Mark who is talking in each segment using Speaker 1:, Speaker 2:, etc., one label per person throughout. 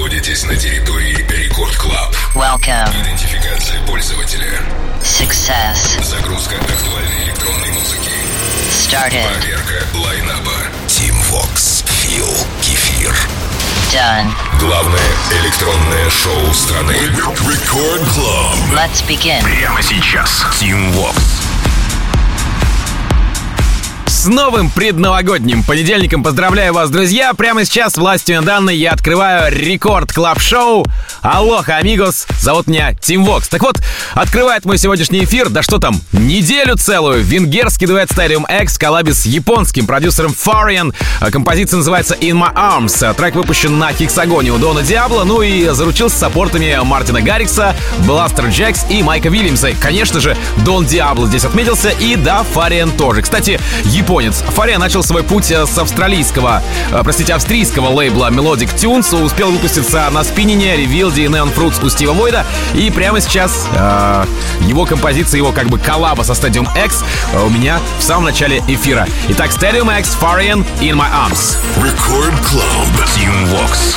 Speaker 1: находитесь на территории Рекорд Клаб.
Speaker 2: Welcome.
Speaker 1: Идентификация пользователя.
Speaker 2: Success.
Speaker 1: Загрузка актуальной электронной музыки.
Speaker 2: Started.
Speaker 1: Проверка лайнаба. Team Vox. Фил Кефир.
Speaker 2: Done.
Speaker 1: Главное электронное шоу страны. Рекорд Клаб.
Speaker 2: Let's begin.
Speaker 1: Прямо сейчас. Team Vox.
Speaker 3: С новым предновогодним понедельником поздравляю вас, друзья! Прямо сейчас властью данной я открываю Рекорд Клаб Шоу. Алоха, амигос! Зовут меня Team Vox. Так вот, открывает мой сегодняшний эфир, да что там, неделю целую, венгерский дуэт Stadium X в коллабе с японским продюсером Farian. Композиция называется In My Arms. Трек выпущен на Хексагоне у Дона Диабло, ну и заручился саппортами Мартина Гаррикса, Бластер Джекс и Майка Вильямса. Конечно же, Дон Диабло здесь отметился, и да, Farian тоже. Кстати, японец. Farian начал свой путь с австрийского лейбла Melodic Tunes, успел выпуститься на спиннине, Ревилде и Neon Fruits у Стива Войда, и прямо сейчас его композиция, его как бы коллаба со Stadium X у меня в самом начале эфира. Итак, Stadium X, Farian, In My Arms.
Speaker 1: Record Club. Team Vox.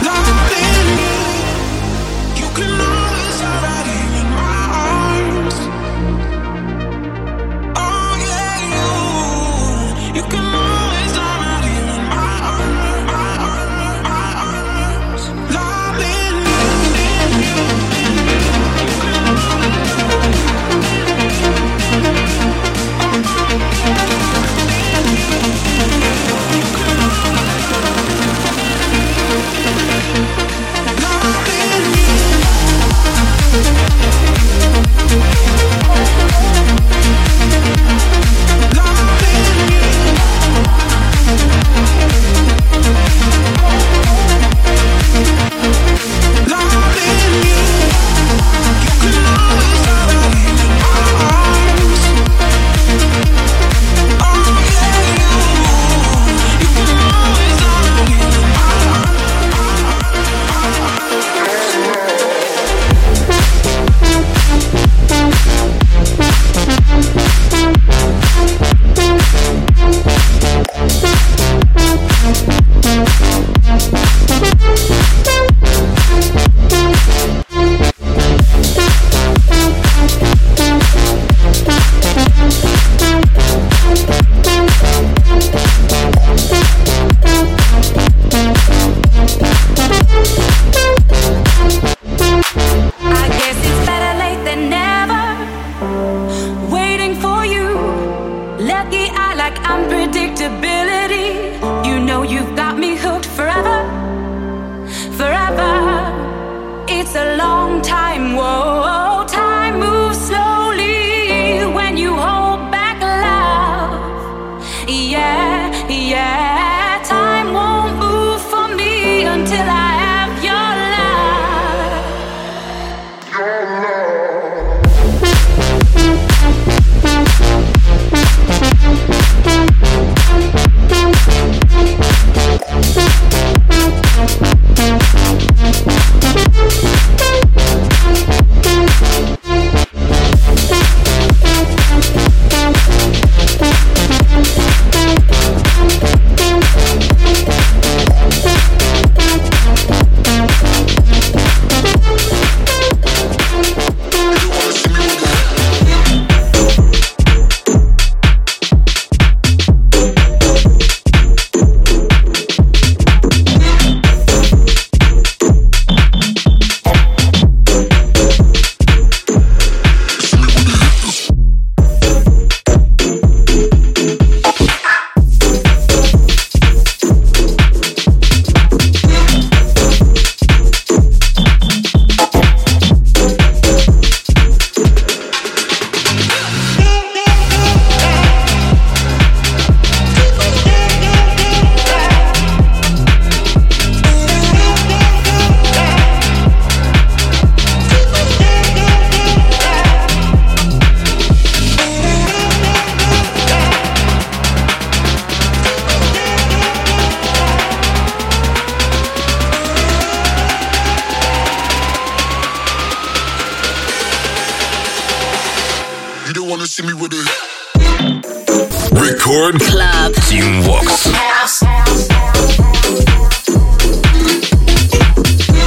Speaker 4: Record Club Team Vox.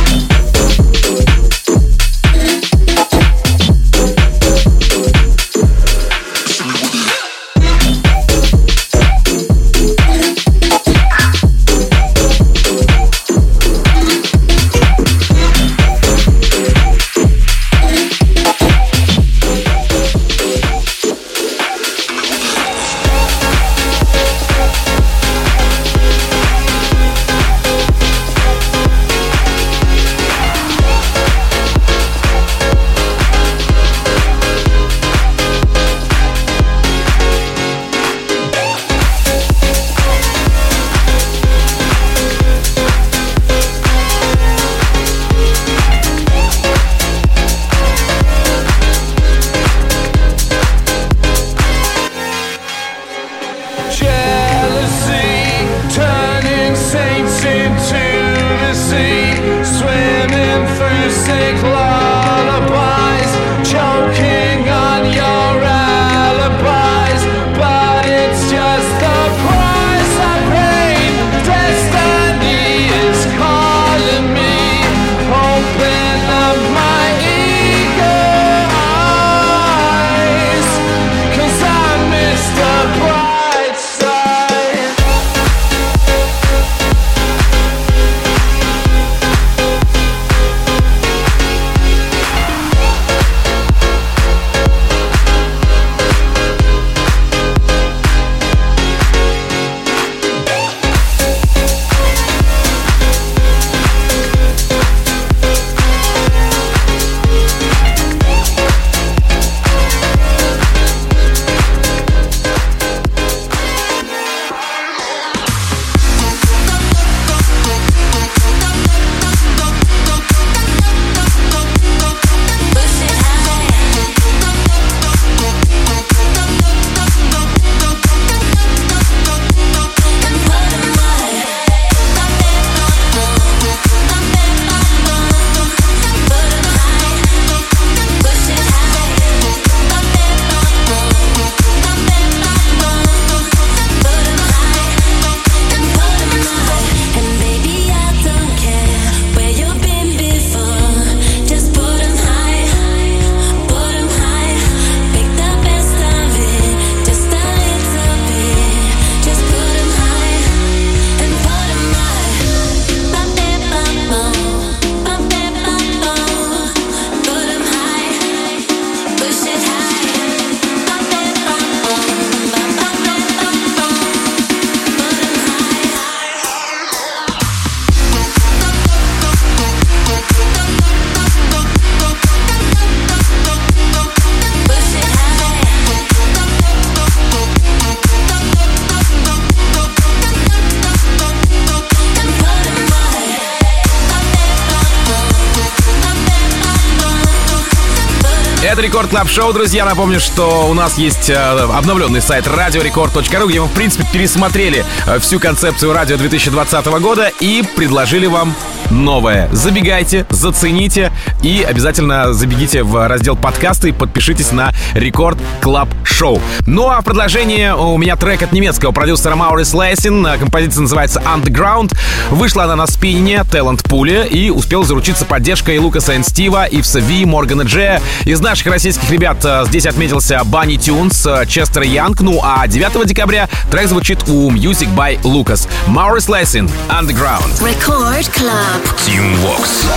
Speaker 5: music lullabies, choking on your alibis, but it's just the price I paid. Destiny is calling me, open up my eager eyes, 'cause I miss the bright side.
Speaker 3: Это Рекорд Клаб Шоу, друзья. Напомню, что у нас есть обновленный сайт radiorecord.ru, где мы, в принципе, пересмотрели всю концепцию радио 2020 года и предложили вам новое. Забегайте, зацените и обязательно забегите в раздел подкасты и подпишитесь на Рекорд Клаб Шоу. Ну а в продолжение у меня трек от немецкого продюсера Маурис Лейсин. Композиция называется Underground. Вышла она на спине Talent Pool и успел заручиться поддержкой Лукаса и Стива, Ивса Ви, Моргана Джея. Из наших российских ребят здесь отметился Банни Тюнс, Честер Янг. Ну а 9 декабря трек звучит у Music by Lucas. Маурис Лейсин, Underground.
Speaker 6: Record Club.
Speaker 1: Team Vox.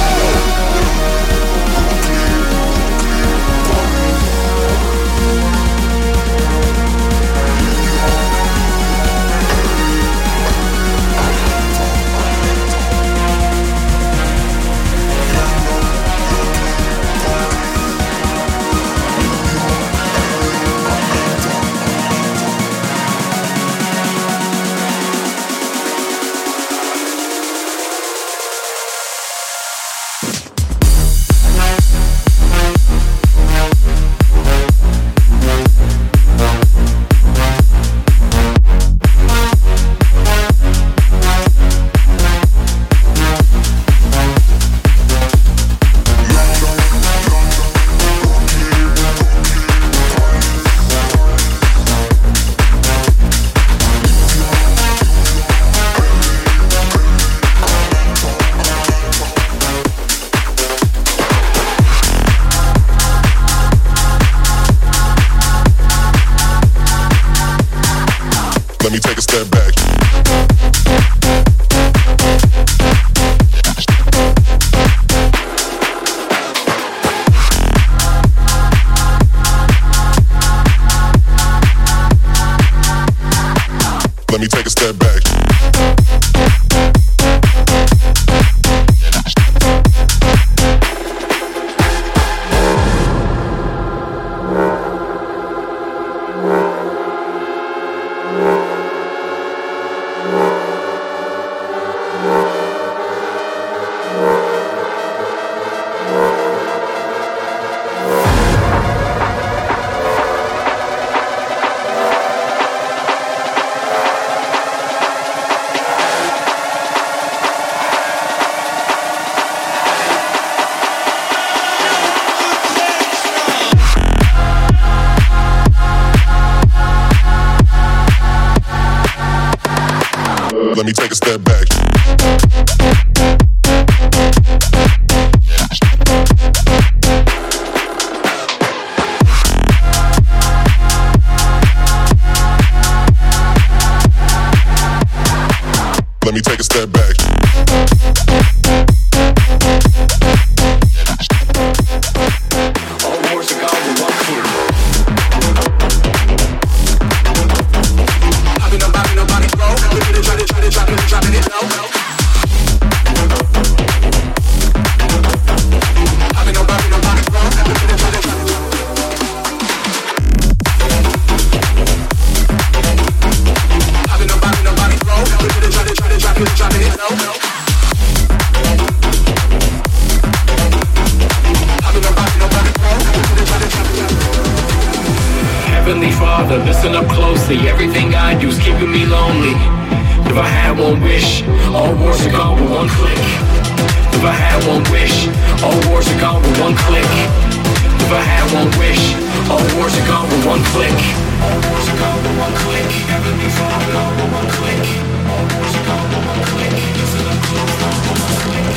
Speaker 6: up closely. Everything I do is keeping me lonely. If I had one wish, all wars are gone with one click. If I had one wish, all wars are gone with one click. If I had one wish, all wars are gone with one click. All wars are gone with one click. Everything's all gone with one click. All wars are gone with one click. Listen up close, gone with one click.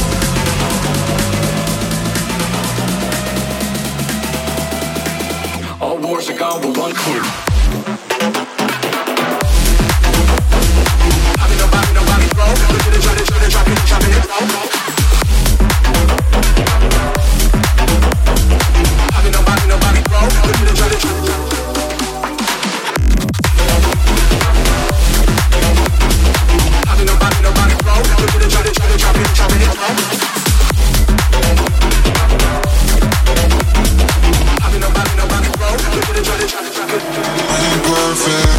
Speaker 6: All wars are gone with one click. Nobody broke. Look at it, try to drop it, drop it, nobody broke. Look at it, try to drop it. Nobody broke. Look at it, try to drop it, drop it. Nobody broke. Look at it, try to drop it.
Speaker 4: I ain't perfect.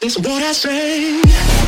Speaker 7: It's what I say.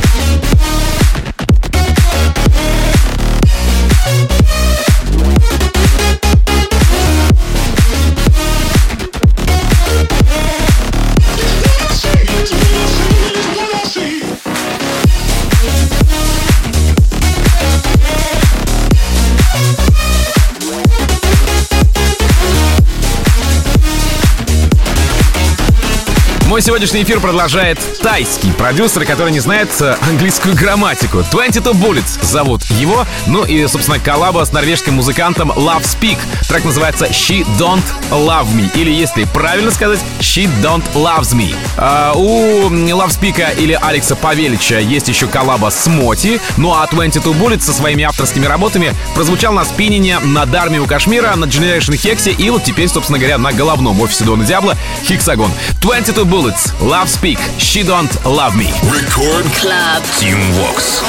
Speaker 3: Мой сегодняшний эфир продолжает тайский продюсер, который не знает английскую грамматику. 22 Bullets зовут его. Ну и, собственно, коллаба с норвежским музыкантом Love Speak. Трек называется She Don't Love Me. Или, если правильно сказать, She Don't Loves Me. У Love Speak или Алекса Павелича есть еще коллаба с Моти. Ну а 22 Bullets со своими авторскими работами прозвучал на спиннине на Дарме у Кашмира, на Generation Хексе и вот теперь, собственно говоря, на головном офисе Дона Диабло Хексагон. 22 Bullets, Love Speak, She Don't Love Me.
Speaker 1: Record
Speaker 2: Club.
Speaker 1: Team Vox.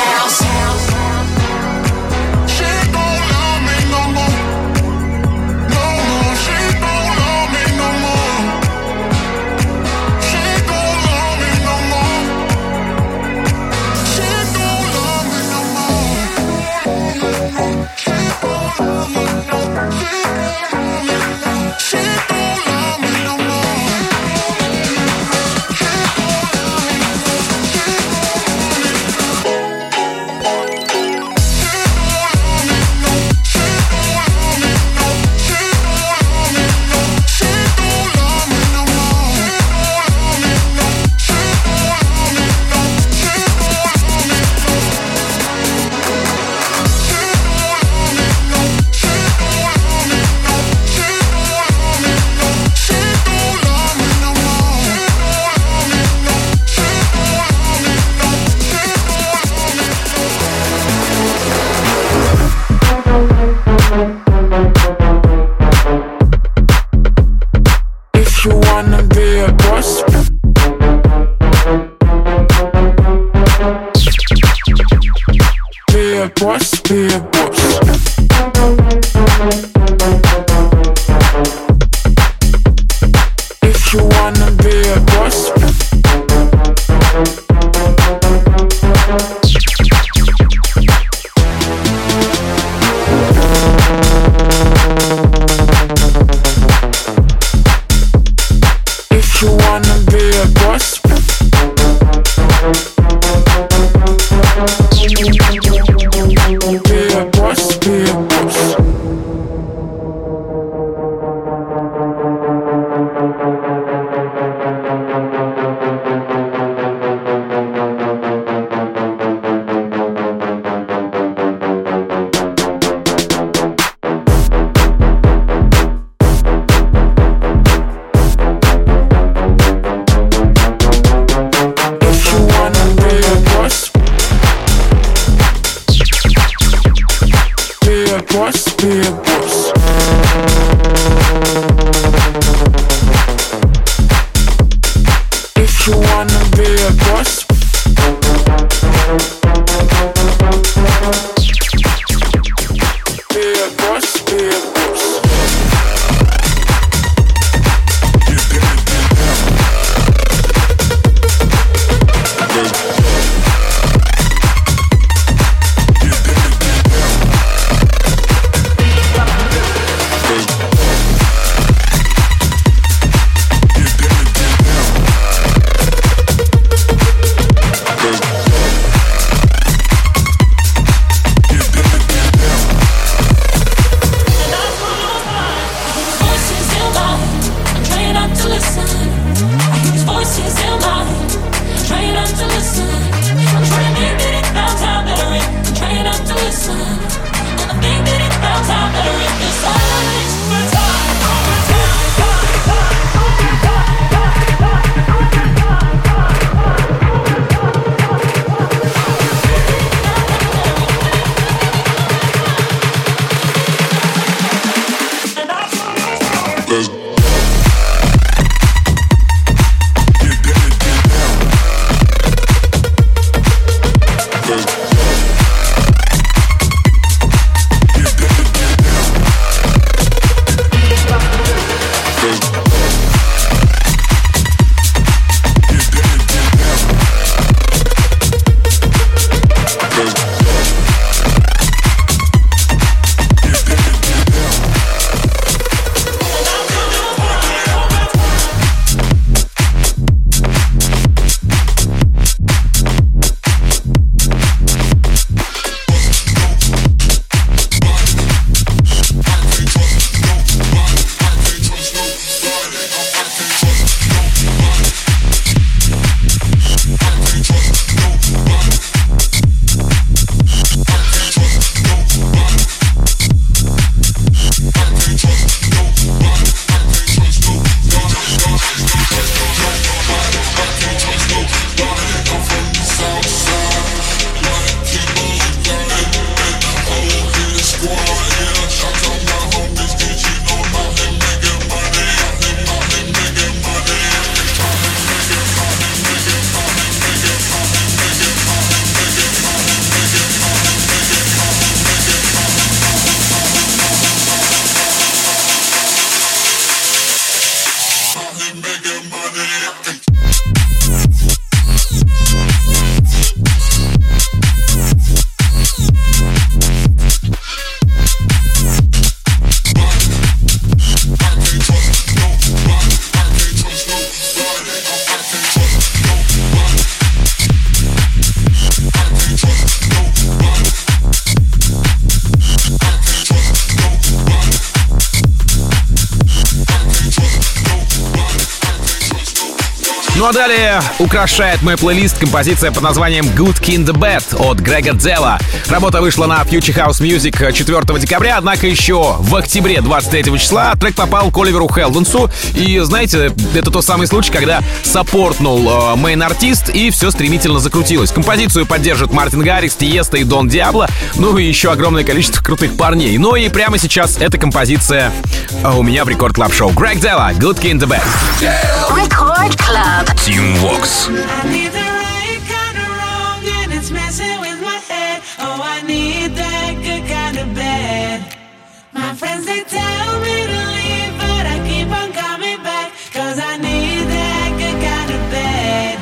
Speaker 3: Ну а далее украшает мой плейлист композиция под названием Good King the Bad от Грега Дзела. Работа вышла на Future House Music 4 декабря, однако еще в октябре 23 числа трек попал к Оливеру Хелденсу. И знаете, это тот самый случай, когда саппортнул мейн-артист, и все стремительно закрутилось. Композицию поддержат Мартин Гаррикс, Тиеста и Дон Диабло, ну и еще огромное количество крутых парней. Ну и прямо сейчас эта композиция у меня в Рекорд Клаб Шоу. Грег Дзела, Good King the Bad.
Speaker 2: Record Club.
Speaker 1: Team Vox.
Speaker 7: I need the right kind of wrong and it's messing with my head. Oh, I need that good kind of bad. My friends, they tell me to leave, but I keep on coming back. Cause I need that good kind of bad.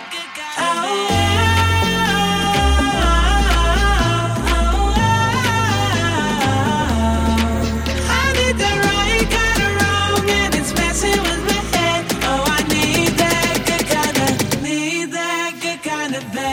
Speaker 7: I need the right kind of wrong and it's messing with my head. Oh, I need that good kind of bad.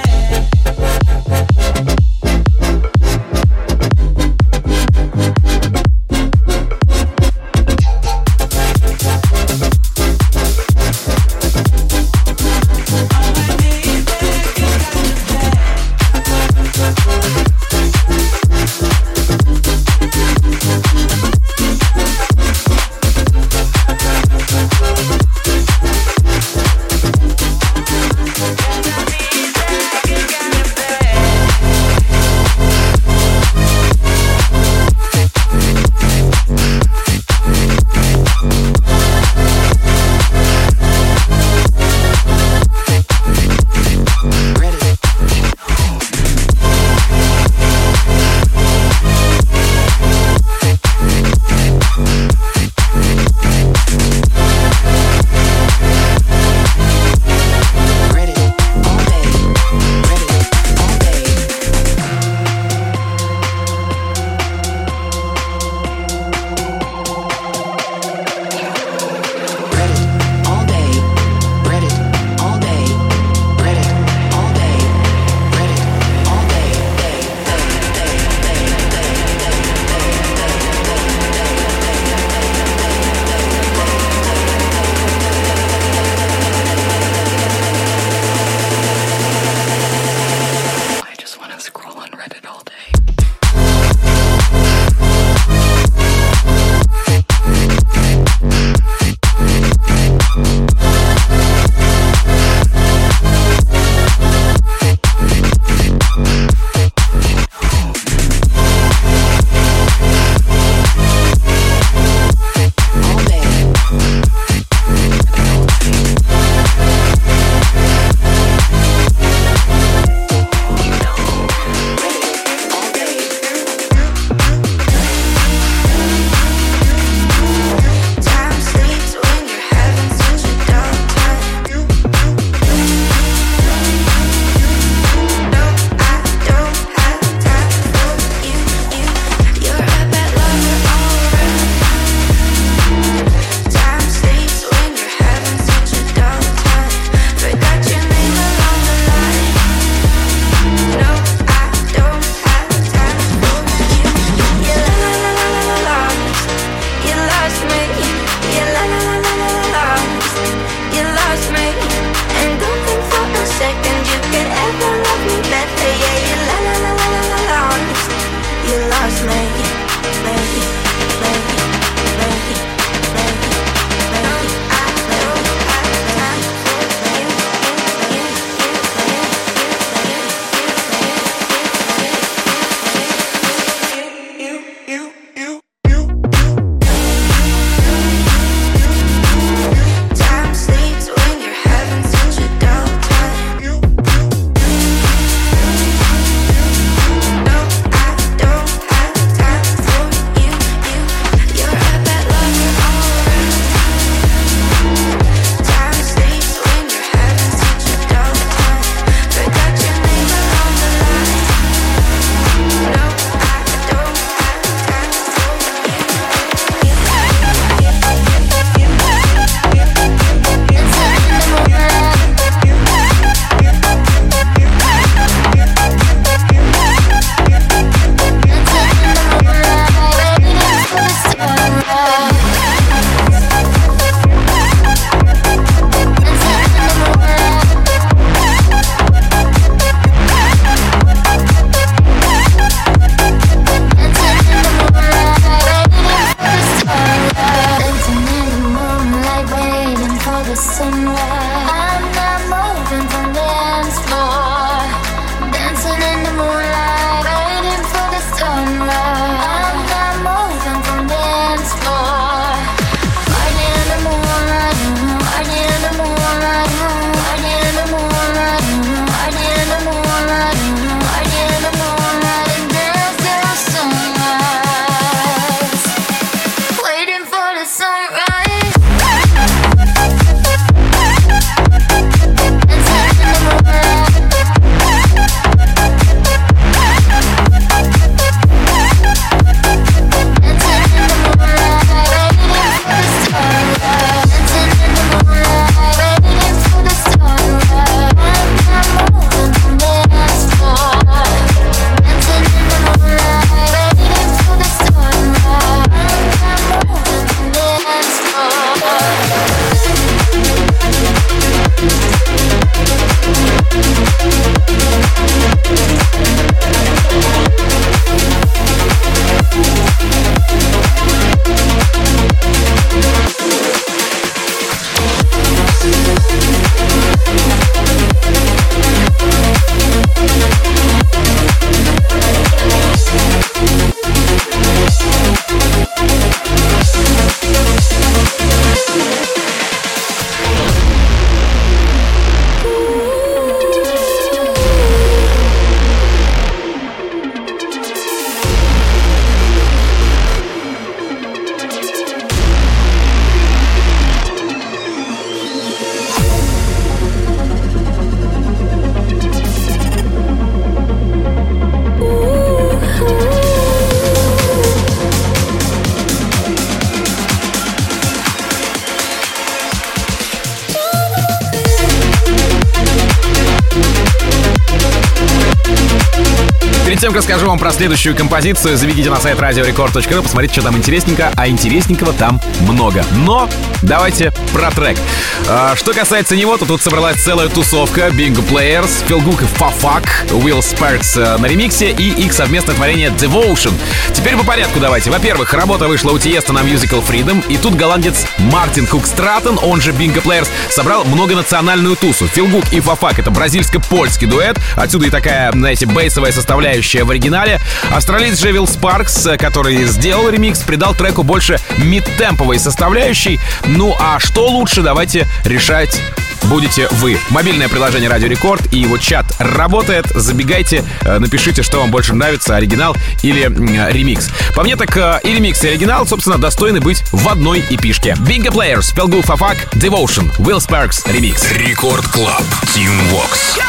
Speaker 3: Перед тем, как расскажу вам про следующую композицию, заведите на сайт radiorecord.ru, посмотрите, что там интересненько, а интересненького там много. Но давайте про трек. Что касается него, то тут собралась целая тусовка: Bingo Players, Phil Gook и Fafak, Will Sparks на ремиксе и их совместное творение Devotion. Теперь по порядку давайте. Во-первых, работа вышла у Тиеста на Musical Freedom, и тут голландец Мартин Хук Стратон, он же Bingo Players, собрал многонациональную тусу. Phil Gook и Fafak — это бразильско-польский дуэт, отсюда и такая, знаете, бейсовая составляющая в оригинале. Австралиец же Will Sparks, который сделал ремикс, придал треку больше мид-темповой составляющей. Ну а что лучше, давайте решать будете вы. Мобильное приложение Радио Рекорд и его чат работает. Забегайте, напишите, что вам больше нравится, оригинал или ремикс. По мне так и ремикс, и оригинал, собственно, достойны быть в одной эпишке. Bingo Players, Phil Gook, Fafak, Devotion, Will Sparks, ремикс.
Speaker 1: Рекорд Клаб, Team Vox.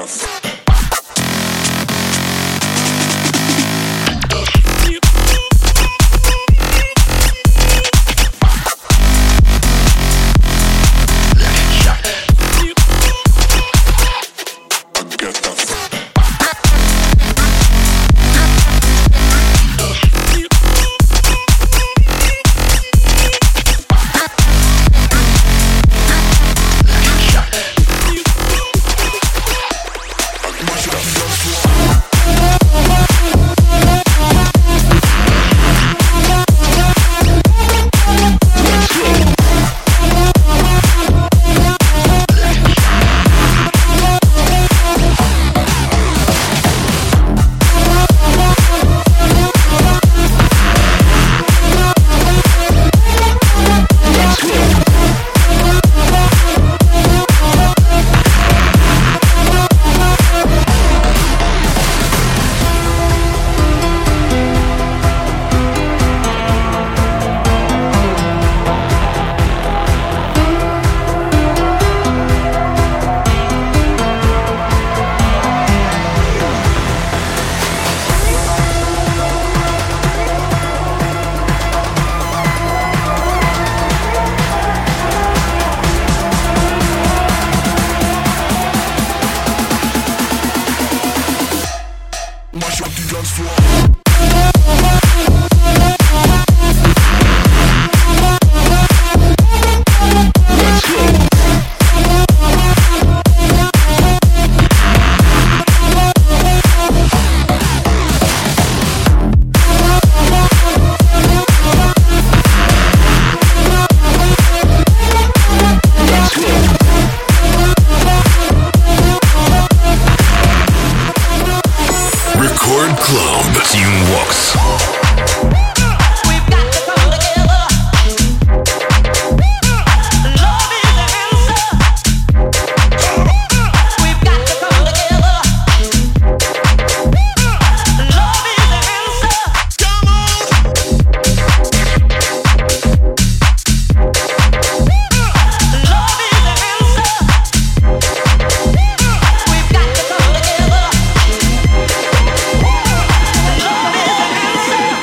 Speaker 8: Love is the answer.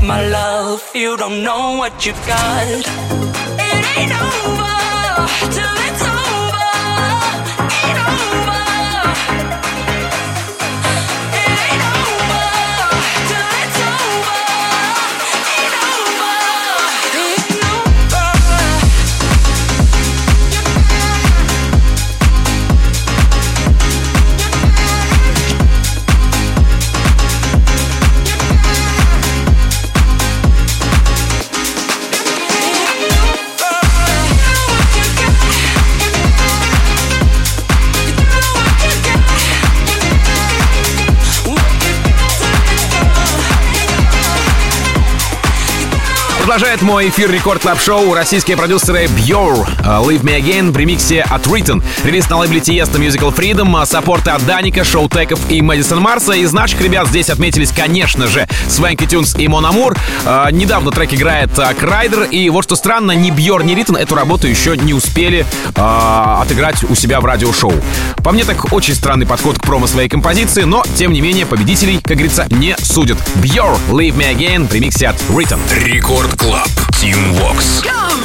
Speaker 8: my love. You don't know what you've got. It ain't over till it's over. Ain't over. It ain't over till it's over. Ain't over. Ain't over.
Speaker 3: Продолжает мой эфир Рекорд Клаб Шоу российские продюсеры Björk, Leave Me Again в ремиксе от Written. Релиз на лейбле Tiesto Musical Freedom, саппорты от Даника, Шоутеков и Мэдисон Марса. Из наших ребят здесь отметились, конечно же, Свенки Тюнс и Мон Амур. Недавно трек играет Крайдер. И вот что странно, ни Björk, ни Written эту работу еще не успели отыграть у себя в радиошоу. По мне, так очень странный подход к промо своей композиции, но, тем не менее, победителей, как говорится, не судят. Björk, Leave Me Again в ремиксе от Written.
Speaker 1: Рекорд Клаб. Team Vox.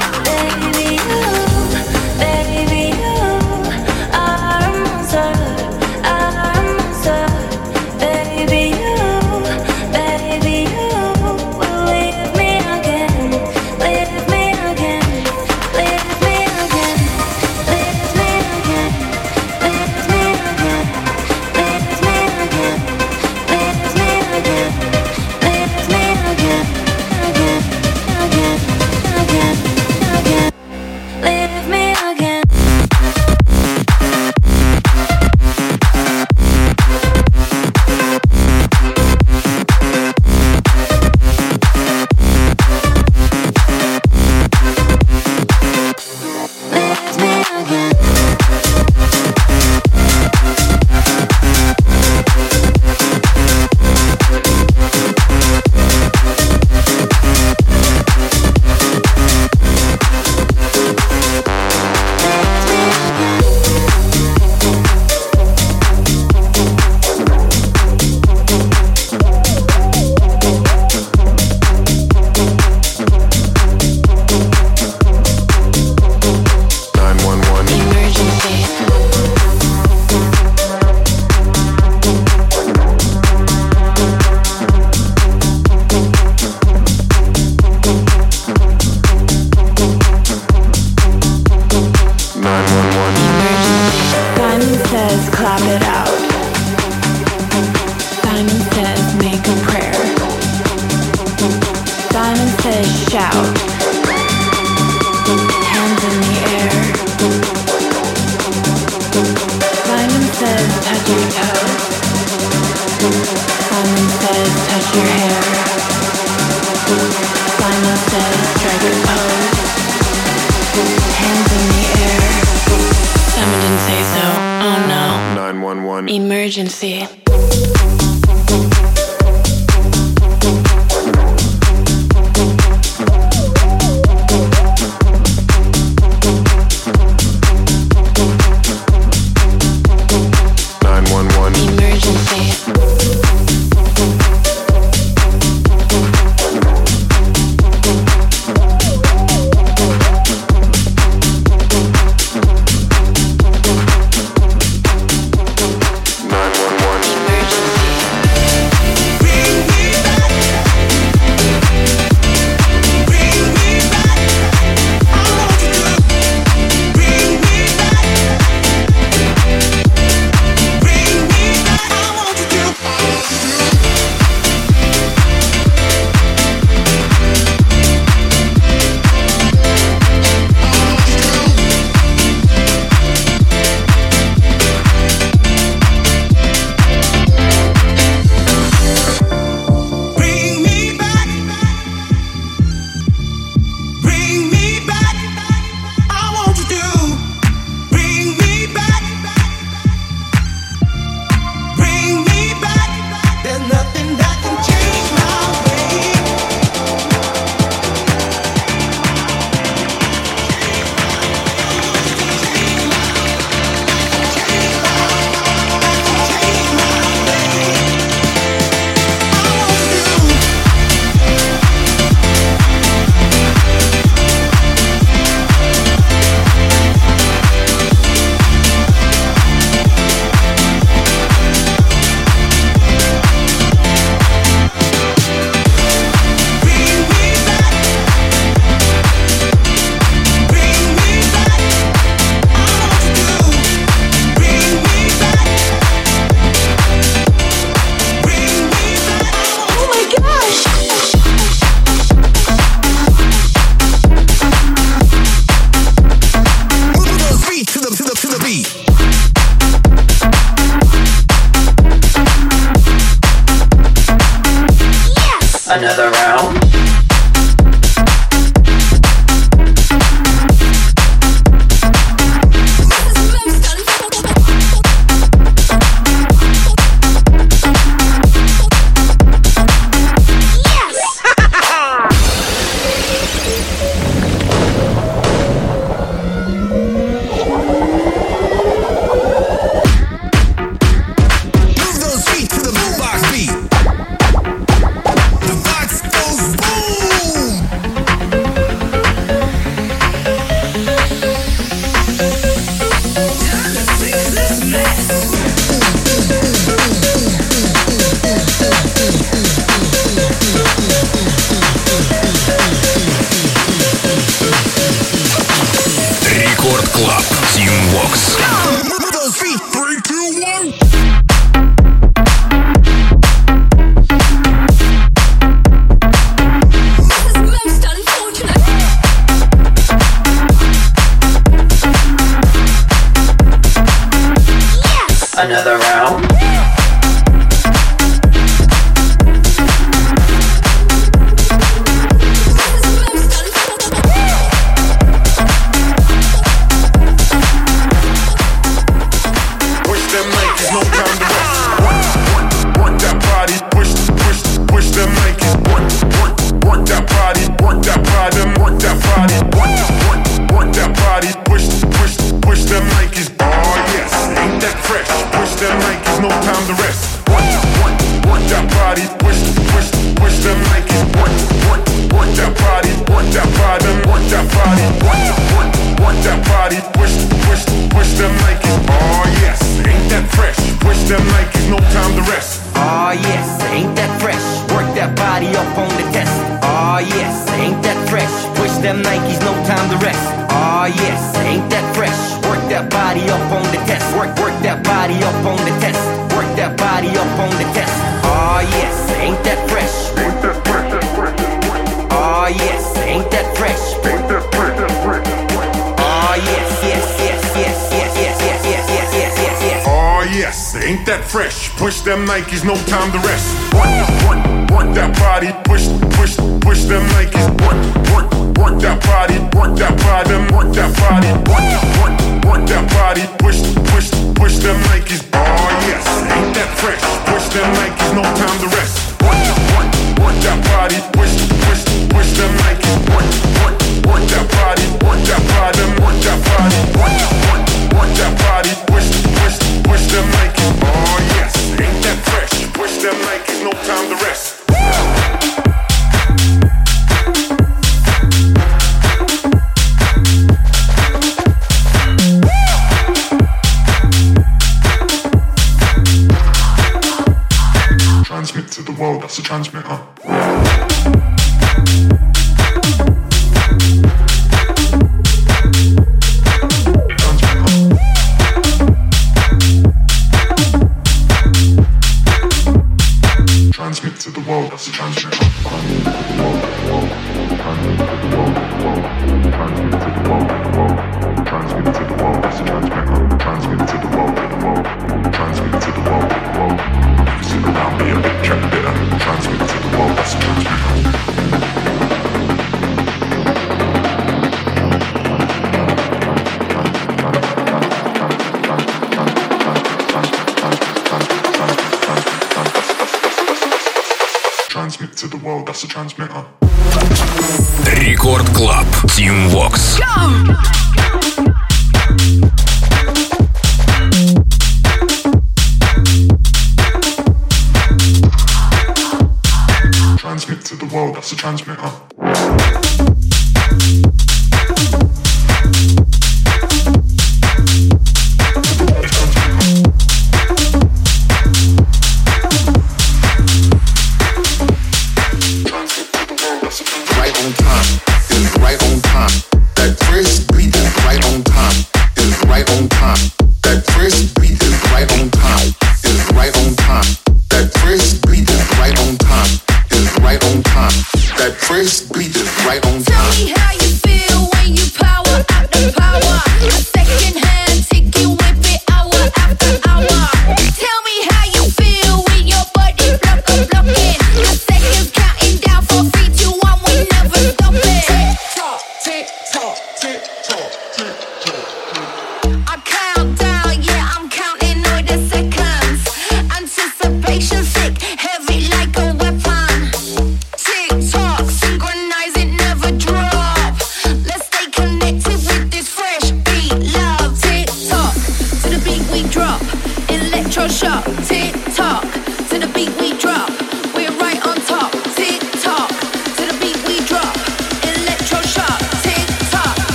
Speaker 9: Emergency.
Speaker 8: Emergency.
Speaker 10: Another round. Another round.
Speaker 11: Ain't that fresh? Push them Nikes, no time to rest. Work that body, push them Nikes. Work that body, work that body, work that body, work that body, push them Nikes. Oh yes, ain't that fresh? Push them Nikes, no time to rest. Work that body, push them Nikes. Work that body, work that body, work that body, work that body, push them Nikes. Oh yes, ain't that fresh? Push them Nikes, no time to rest. Transmit to the world, that's a transmitter. Transmit to the world, that's a transmitter. Transmit to the world, that's a transmitter. Transmit to the world, transmit to the world. If you sit around me a bit, check a bit, transmit to the world, that's a transmitter. To the world, that's a transmitter.
Speaker 1: Рекорд Клаб, Team Vox.
Speaker 11: Transmit to the world, that's a transmitter.
Speaker 12: Tell me how you feel when your body blocking. A second counting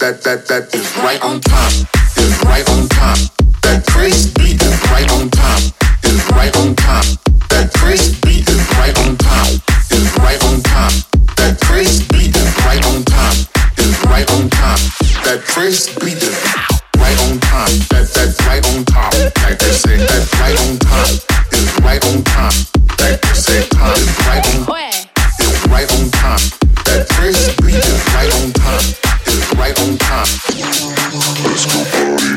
Speaker 4: that is right on time. Is right on time. That crazy beat is right on time. Is right on time. That crazy beat is right on time. Is right on time. That crazy beat is right on time. Is right on time. That crazy beat is right on time. That's right on top. Like they say, that's right on time. Is right on time. Like they say, time is right on. Is right on time. That crazy beat is right on time. Is right on time. Let's go party.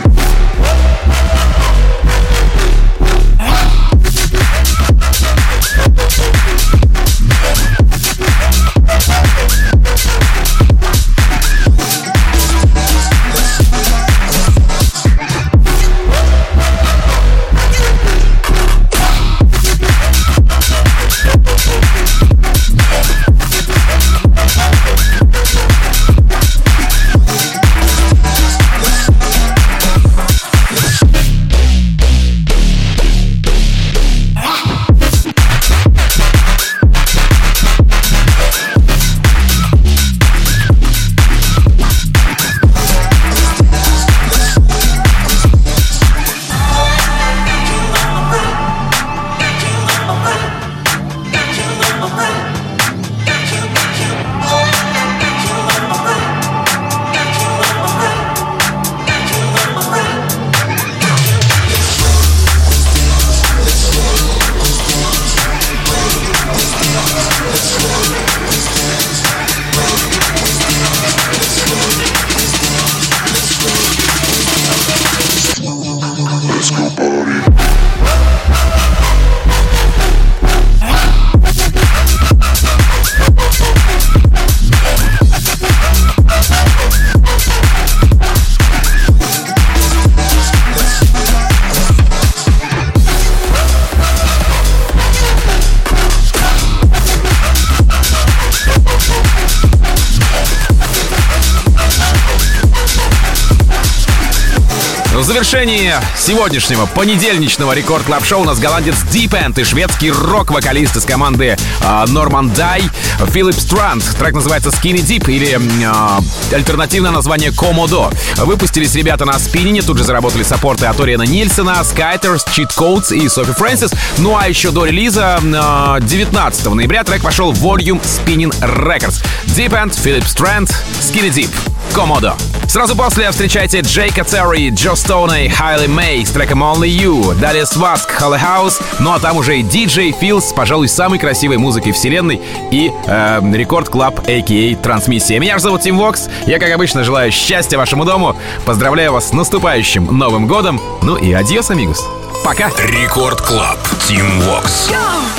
Speaker 3: В завершении сегодняшнего понедельничного Рекорд Клаб Шоу у нас голландец Deep End и шведский рок-вокалист из команды Norman Дай Philip Strand. Трек называется Skinny Deep или альтернативное название Komodo. Выпустились ребята на спиннине, тут же заработали саппорты от Ориана Нильсона, Skyters, Cheat Codes и Софи Фрэнсис. Ну а еще до релиза 19 ноября трек пошел в Volume Spinning Records. Deep End, Philip Strand, Skinny Deep, Komodo. Сразу после встречайте Джейка Терри, Джо Стоуна и Хайли Мэй с треком Only You. Далее Сваск, Holly House. Ну а там уже и диджей Филс, пожалуй, самой красивой музыкой вселенной. И Рекорд Клаб, а.к.а. Трансмиссия. Меня же зовут Тим Вокс. Я, как обычно, желаю счастья вашему дому. Поздравляю вас с наступающим Новым годом. Ну и адьос, амигос. Пока.
Speaker 1: Рекорд Клаб. Тим Вокс.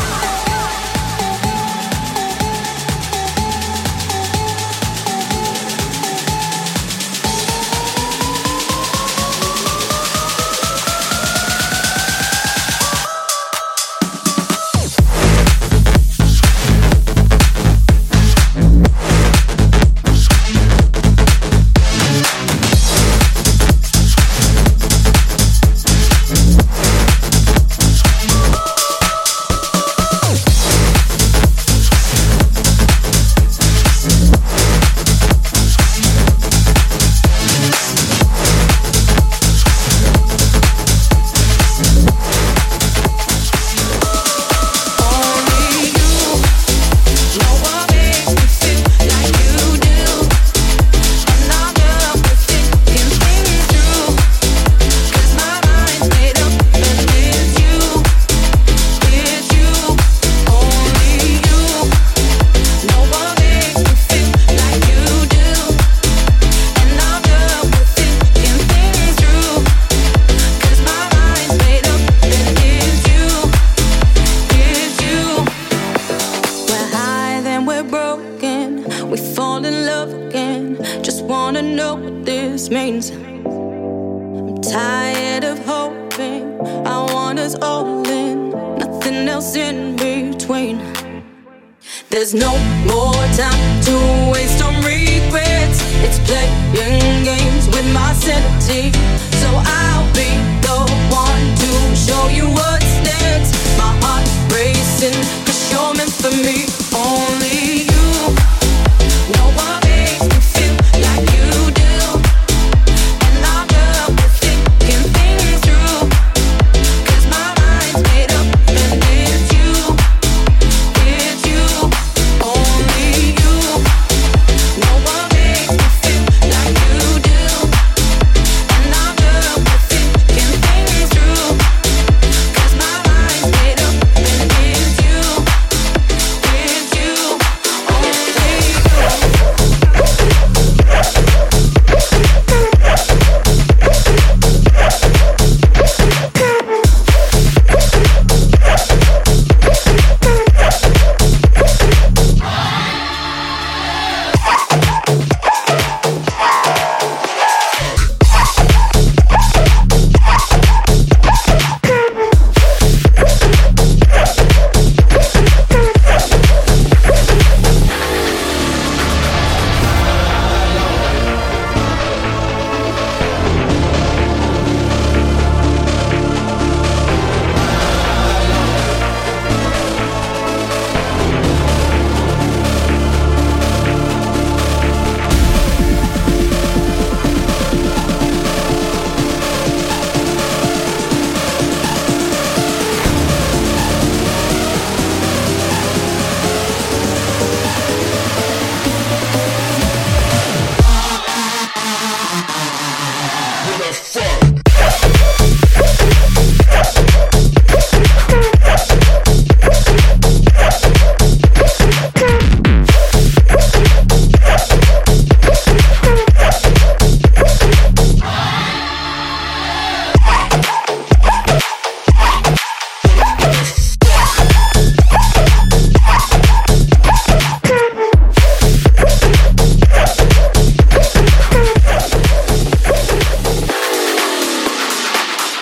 Speaker 8: There's no more time to waste on regrets. It's playing games with my sanity, so I'll be